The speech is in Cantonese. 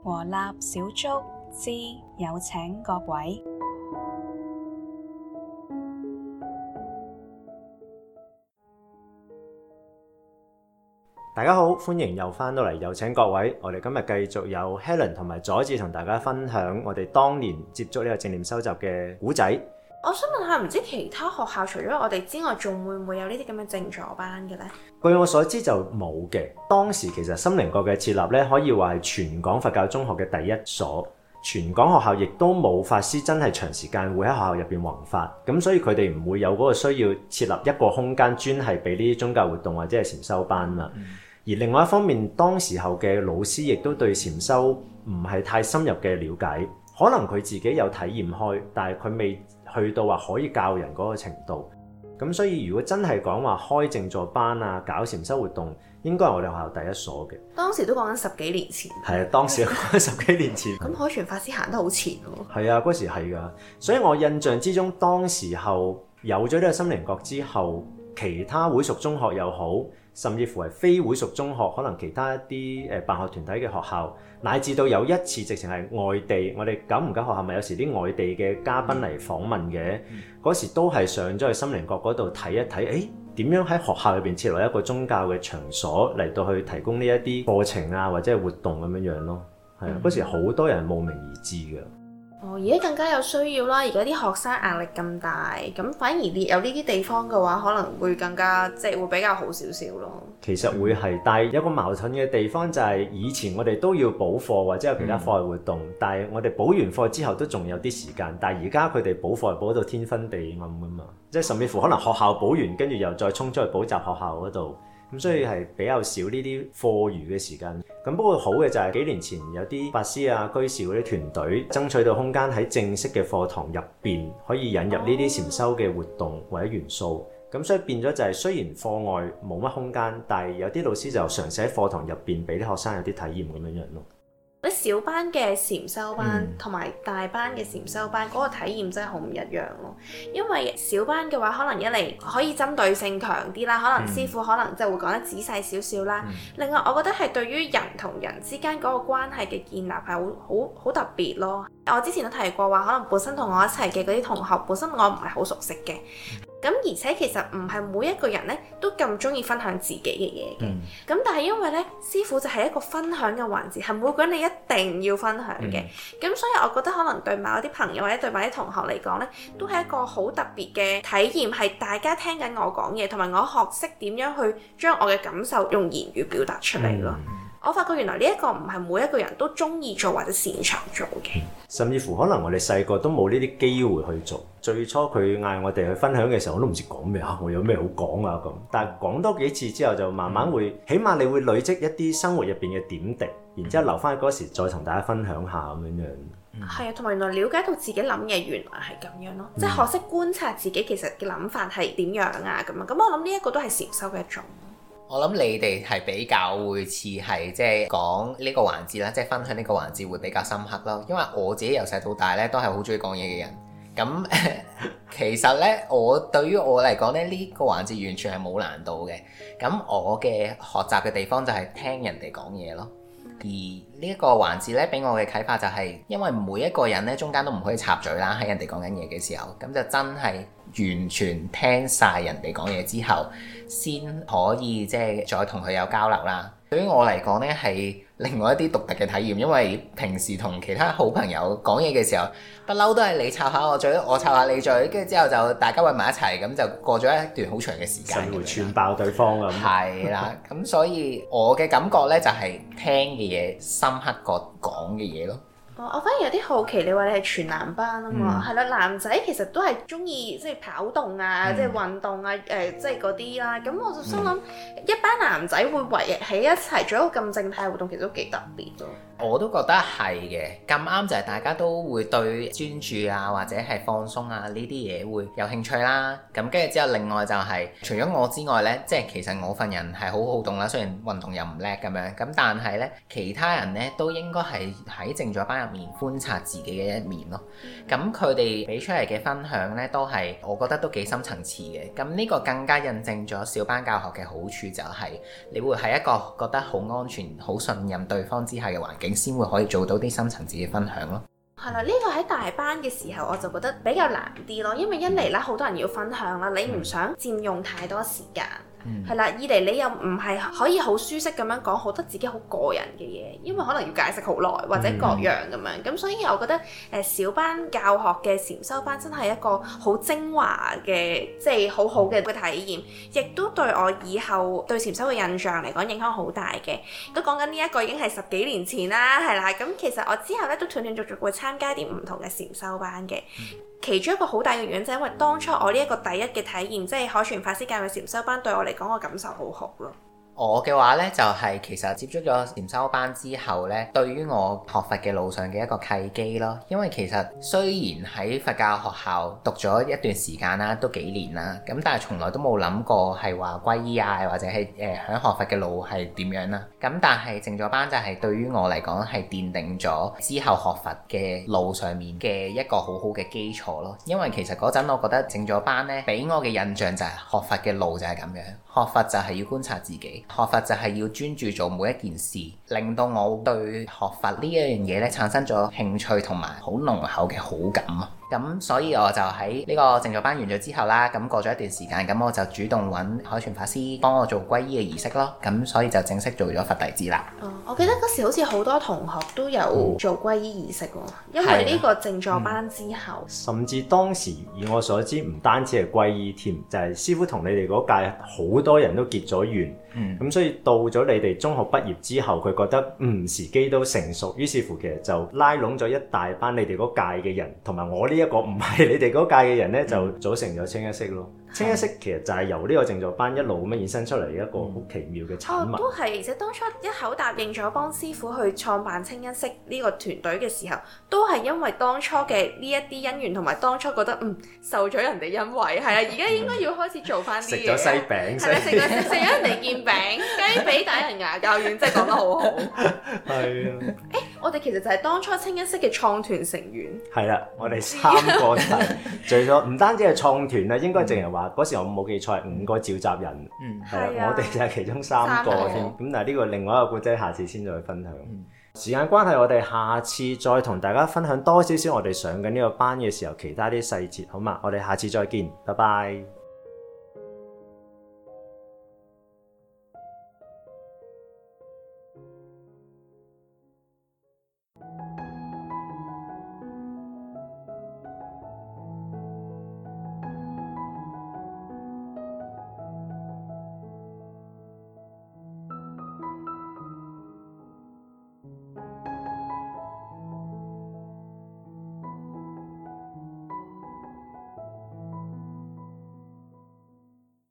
和立小築之有請各位。 大家好，歡迎又翻到嚟有請各位。我哋今日繼續有 Helen 同埋佐治同大家分享我哋當年接觸呢個正念收集嘅古仔。 我想問下，唔知其他學校除咗我哋之外，仲會唔會有呢啲咁嘅靜坐班嘅呢？ 據我所知就冇嘅。當時其實心靈閣嘅設立咧，可以話係全港佛教中學嘅第一所。全港學校亦都冇法師真係長時間會喺學校入邊弘法，咁所以佢哋唔會有嗰個需要設立一個空間專係俾呢啲宗教活動或者係禪修班嘛。而另外一方面，當時候嘅老師亦都對禪修唔係太深入嘅了解，可能佢自己有體驗開，但係佢未去到話可以教人嗰個程度。咁所以如果真係講話開靜坐班啊，搞禪修活動，應該係我哋學校第一所嘅。 當時都講緊10幾年前。 係啊，當時講緊10幾年前。 咁海全法師行得好前喎。 係啊，嗰時係㗎。所以我印象之中，當時候有咗呢個心靈閣之後，其他會屬中學又好，甚至乎係非會屬中學，可能其他一啲辦學團體嘅學校，乃至到有一次直情係外地，我哋久唔久學校咪有時啲外地嘅嘉賓嚟訪問嘅，嗰時都係上咗去心靈閣嗰度睇一睇，點樣喺學校入邊設立一個宗教嘅場所嚟到去提供呢一啲課程啊或者係活動咁樣樣咯。係啊，嗰時好多人慕名而至嘅。 而家更加有需要啦！而家啲學生壓力咁大，咁反而列有呢啲地方嘅話，可能會更加會比較好少少咯。 其實會係，但係有個矛盾嘅地方就係以前我哋都要補課或者有其他課外活動，但係我哋補完課之後都仲有啲時間，但係而家佢哋補課係補到天昏地暗㗎嘛，即係甚至乎可能學校補完跟住又再衝出去補習學校嗰度。咁所以係比較少呢啲課餘嘅時間。咁不過好嘅就係幾年前有啲法師啊、居士嗰啲團隊爭取到空間喺正式嘅課堂入邊可以引入呢啲禪修嘅活動或者元素。咁所以變咗就係雖然課外冇乜空間，但係有啲老師就嘗試喺課堂入邊俾啲學生有啲體驗咁樣樣咯。 啲小班嘅禪修班同埋大班嘅禪修班嗰個體驗真係好唔一樣咯。因為小班嘅話，可能一嚟可以針對性強啲啦，可能師傅可能即係會講得仔細少少啦。另外，我覺得係對於人同人之間嗰個關係嘅建立係好特別咯。我之前都提過話，可能本身同我一齊嘅嗰啲同學，本身我唔係好熟悉嘅。咁而且其實唔係每一個人咧都咁中意分享自己嘅嘢嘅，咁但係因為咧師傅就係一個分享嘅環節，係每個人你一定要分享嘅，咁所以我覺得可能對某啲朋友或者對某啲同學嚟講咧，都係一個好特別嘅體驗，係大家聽緊我講嘢，同埋我學識點樣去將我嘅感受用言語表達出嚟咯。我發覺原來呢一個唔係每一個人都中意做或者擅長做嘅， 甚至乎可能我哋細個都冇呢啲機會去做。最初佢嗌我哋去分享嘅時候，我都唔知講咩啊，我有咩好講啊咁。但係講多幾次之後，就慢慢會，起碼你會累積一啲生活入邊嘅點滴，然之後留翻嗰時再同大家分享下咁樣樣。 係啊，同埋原來了解到自己諗嘢原來係咁樣咯，即係學識觀察自己其實嘅諗法係點樣啊咁啊。咁我諗呢一個都係禪修嘅一種。 我諗你哋係比較會似係即係講呢個環節啦，即係分享呢個環節會比較深刻咯。因為我自己由細到大咧都係好中意講嘢嘅人。咁其實咧，對於我嚟講咧，呢個環節完全係冇難度嘅。咁我嘅學習嘅地方就係聽人哋講嘢咯。而呢一個環節咧，俾我嘅啟發就係，因為每一個人咧中間都唔可以插嘴啦，喺人哋講緊嘢嘅時候，咁就真係完全聽晒人哋講嘢之後，先可以即係再同佢有交流啦。對於我嚟講咧，係另外一啲獨特嘅體驗，因為平時同其他好朋友講嘢嘅時候，不嬲都係你插下我嘴，我插下你嘴，跟住之後就大家圍埋一齊，咁就過咗一段好長嘅時間， 會串爆對方咁。 係啦，咁所以我嘅感覺咧就係聽嘅嘢深刻過講嘅嘢咯。 我反而有啲好奇，你話你係全男班啊嘛，係啦，男仔其實都係中意即係跑動啊，即係運動啊，即係嗰啲啦。咁我就心諗，一班男仔會圍喺一齊做一個咁靜態嘅活動，其實都幾特別咯。 我都覺得係嘅，咁啱就係大家都會對專注啊或者係放鬆啊呢啲嘢會有興趣啦。咁跟住之後，另外就係除咗我之外呢，即係其實我份人係好好動啦，雖然運動又唔叻咁樣，咁但係呢，其他人呢都應該係喺靜坐班入入面觀察自己嘅一面咯。咁佢哋俾出嚟嘅分享呢，都係我覺得都幾深層次嘅。咁呢個更加印證咗小班教學嘅好處，就係你會喺一個覺得好安全、好信任對方之下嘅環境，先會可以做到啲深層次嘅分享咯。 係啦，呢個喺大班嘅時候我就覺得比較難啲咯，因為一嚟啦，好多人要分享啦，你唔想佔用太多時間。係啦，二嚟你又唔係可以好舒適咁樣講好多自己好個人嘅嘢，因為可能要解釋好耐或者各樣咁樣，咁所以我覺得小班教學嘅禪修班真係一個好精華嘅，即係好好嘅體驗，亦都對我以後對禪修嘅印象嚟講影響好大嘅。都講緊呢一個已經係10幾年前啦，係啦，咁其實我之後咧都斷斷續續會參加啲唔同嘅禪修班嘅。其中一個好大嘅原因就係因為當初我呢一個第一嘅體驗，即係海全法師教嘅禪修班，對我嚟講，我感受好好咯。 我嘅話呢，就係其實接觸咗禪修班之後呢，對於我學佛嘅路上嘅一個契機咯。因為其實雖然喺佛教學校讀咗一段時間啦，都幾年啦，咁但係從來都冇諗過係話皈依啊，或者係響學佛嘅路係點樣啦。咁但係靜坐班就係對於我嚟講係奠定咗之後學佛嘅路上面嘅一個好好嘅基礎咯。因為其實嗰陣我覺得靜坐班呢，俾我嘅印象就係學佛嘅路就係咁樣，學佛就係要觀察自己。學佛就係要專注做每一件事，令到我對學佛呢一樣嘢咧產生咗興趣同埋好濃厚嘅好感啊！咁所以我就喺呢個靜坐班完咗之後啦，咁過咗一段時間，咁我就主動揾海全法師幫我做皈依嘅儀式咯，咁所以就正式做咗佛弟子啦。 我記得嗰時好似好多同學都有做皈依儀式喎，因為呢個靜坐班之後， 甚至當時以我所知，唔單止係皈依添，就係師父同你哋嗰屆好多人都結咗緣。咁所以到咗你哋中學畢業之後，佢覺得時機都成熟，於是乎其實就拉攏咗一大班你哋嗰屆嘅人，同埋我呢一個唔係你哋嗰屆嘅人咧，就組成咗清一色咯。清一色其實就係由呢個靜坐班一路咁樣衍生出嚟一個好奇妙嘅產物。 都係，而且當初一口答應咗幫師傅去創辦清一色呢個團隊嘅時候，都係因為當初嘅呢一啲因緣，同埋當初覺得受咗人哋恩惠，係啦，而家應該要開始做翻啲嘢。食咗西餅，係啦，食咗人哋件餅，雞髀打人牙較軟，真係講得好好。係啊。我哋其實就係當初清一色嘅創團成員。係啦， 我哋3個就係除咗唔單止係創團啦，應該淨係話嗰時我冇記錯係5個召集人。係啊，我哋就係其中3個添。咁但係呢個另外一個故仔，下次先再分享。時間關係，我哋下次再同大家分享多少少我哋上緊呢個班嘅時候其他啲細節，好嘛？我哋下次再見，拜拜。